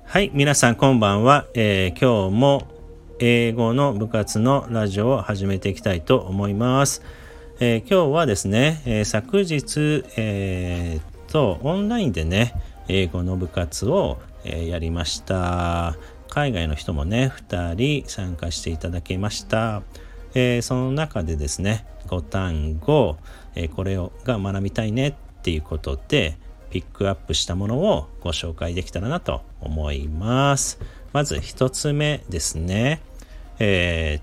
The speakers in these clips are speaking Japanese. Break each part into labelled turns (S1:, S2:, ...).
S1: はい、皆さんこんばんは。今日も英語の部活のラジオを始めていきたいと思います。今日はですね、昨日、オンラインでね、英語の部活を、やりました。海外の人もね、2人参加していただきました。その中でですね、5単語、これが学びたいねっていうことで、ピックアップしたものをご紹介できたらなと思います。まず一つ目ですね。pass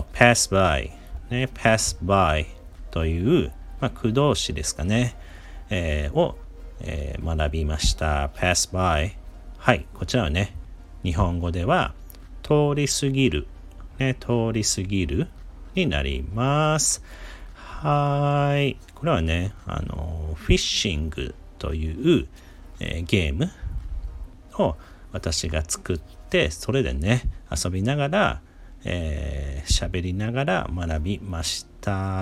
S1: by、ね、pass by という、駆動詞ですかね、を、学びました。pass by。はい、こちらはね、日本語では通り過ぎる、ね、通り過ぎるになります。はい、これはね、フィッシングという、ゲームを私が作って、それでね遊びながら喋りながら学びました。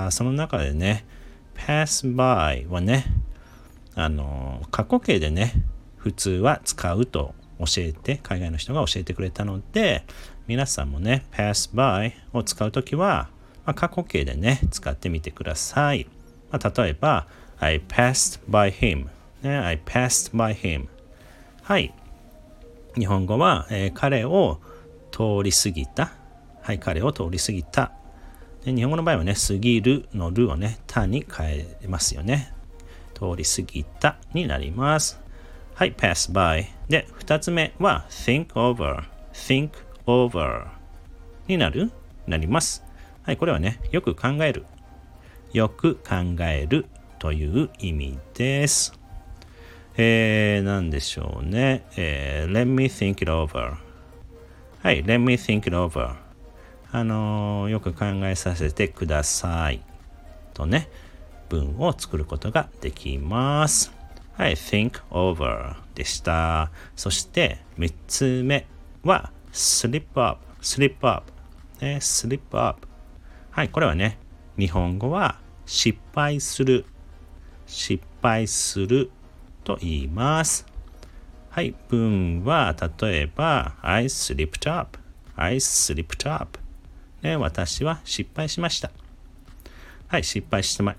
S1: その中でね pass by はね過去形でね普通は使うと海外の人が教えてくれたので、皆さんもね pass by を使うときは、過去形でね使ってみてください。例えば I passed by him、ね、I passed by him。 はい、日本語は、彼を通り過ぎた。はい、彼を通り過ぎた。で、日本語の場合はね、過ぎるのるをね、たに変えますよね。通り過ぎたになります。はい、pass by。で、二つ目は think over。think over になります。はい、これはね、よく考える。よく考えるという意味です。なんでしょうね。let me think it over。はい、let me think it over。よく考えさせてください。とね、文を作ることができます。はい、think over でした。そして、3つ目は slip up。slip up。ね、slip up。はい、これはね、日本語は失敗すると言います。はい、文は例えば I slipped up。ね、私は失敗しました。はい、失敗しま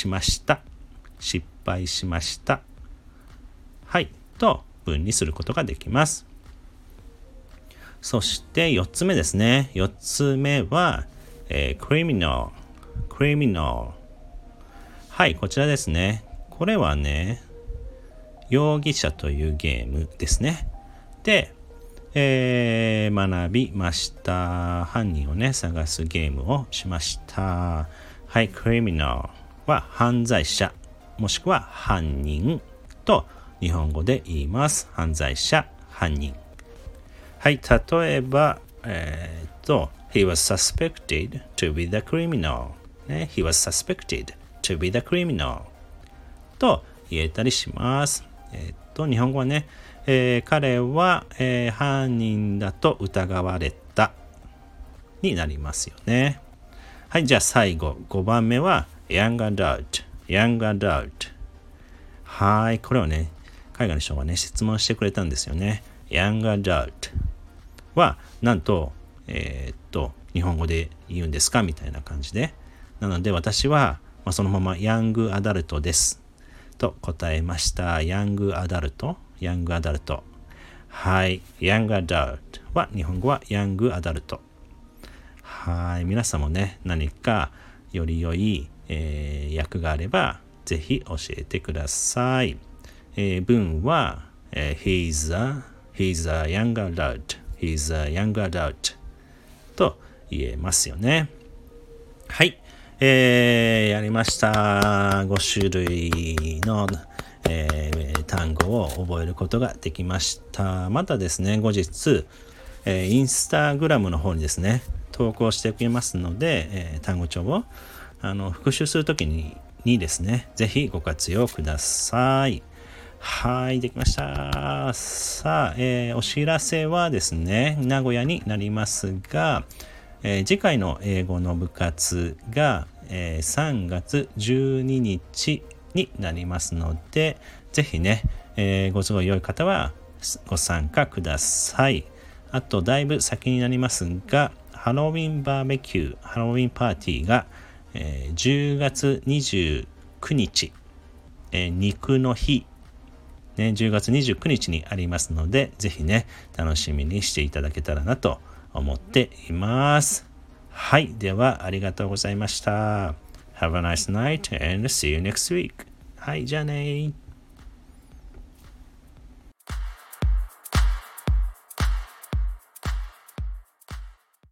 S1: した。はい、と文にすることができます。そして4つ目ですね。4つ目は、criminal。はい、こちらですね。これはね、容疑者というゲームですね。で、学びました。犯人をね、探すゲームをしました。はい、criminal は犯罪者、もしくは犯人と日本語で言います。犯罪者、犯人。はい、例えば、he was suspected to be the criminal。ね、he was suspected to be the criminal と言えたりします。日本語はね、彼は、犯人だと疑われたになりますよね。はい、じゃあ最後5番目は young adult。はい、これをね、海外の人がね質問してくれたんですよね。young adult はなんと日本語で言うんですかみたいな感じで、なので私は、そのままヤングアダルトですと答えました。ヤングアダルト。はい。ヤングアダルトは、日本語はヤングアダルト。はい。皆さんもね、何かより良い、訳があれば、ぜひ教えてください。文は、he's a young adult。he's a young adult と言えますよね。はい。やりました。5種類の、単語を覚えることができました。またですね、後日、インスタグラムの方にですね、投稿しておきますので、単語帳を復習するときにですね、ぜひご活用ください。はい、できました。さあ、お知らせはですね、名古屋になりますが、次回の英語の部活が、3月12日になりますので、ぜひね、ご都合良い方は、 ご参加ください。あとだいぶ先になりますが、ハロウィンバーベキュー、ハロウィンパーティーが、10月29日、肉の日、10月29日にありますので、ぜひね、楽しみにしていただけたらなと思っています。はい、ではありがとうございました。Have a nice night and see you next week. はい、じゃあね。